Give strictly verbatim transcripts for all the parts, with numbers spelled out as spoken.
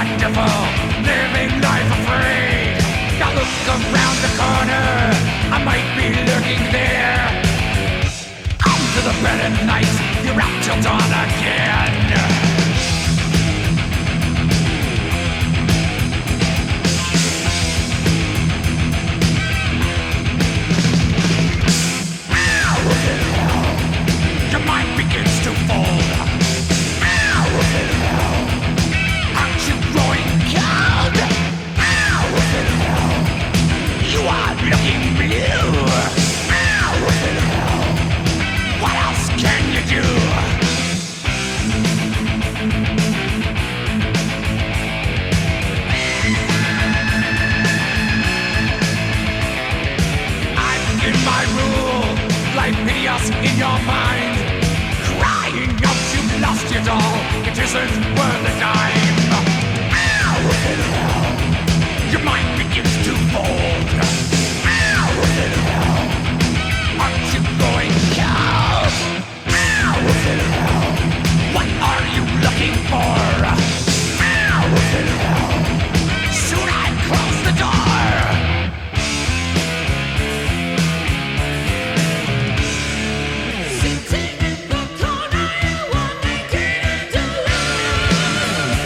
wonderful, living life afraid. Now look around the corner, I might be lurking there. Come to the bed at night, you're out till dawn again. Your mind begins to fold. Aren't you growing cold? You are looking blue. What else can you do? I begin my rule, like chaos in your mind. Crying out you've lost your doll, it isn't worth a dime. Your mind begins to fold. Aren't you going cold? What are you looking for? Soon I close the door. Sitting in the corner, you are making it alone.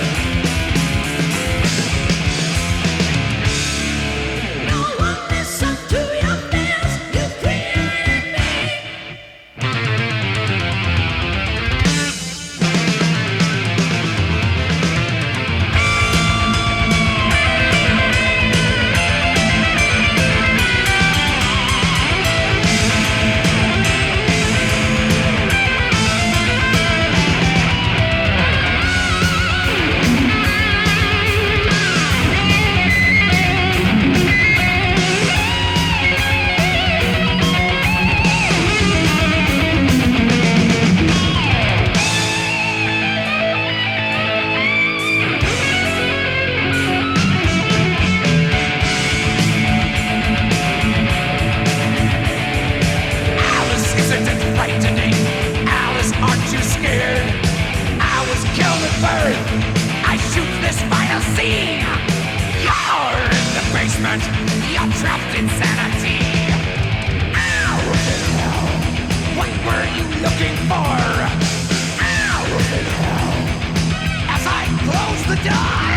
No one listens to your fears, you created me. Alice, isn't it frightening? Alice, aren't you scared? I was killed at birth. I shoot this final scene. You're in the basement. You're trapped in sanity. What were you looking for? As I close the door.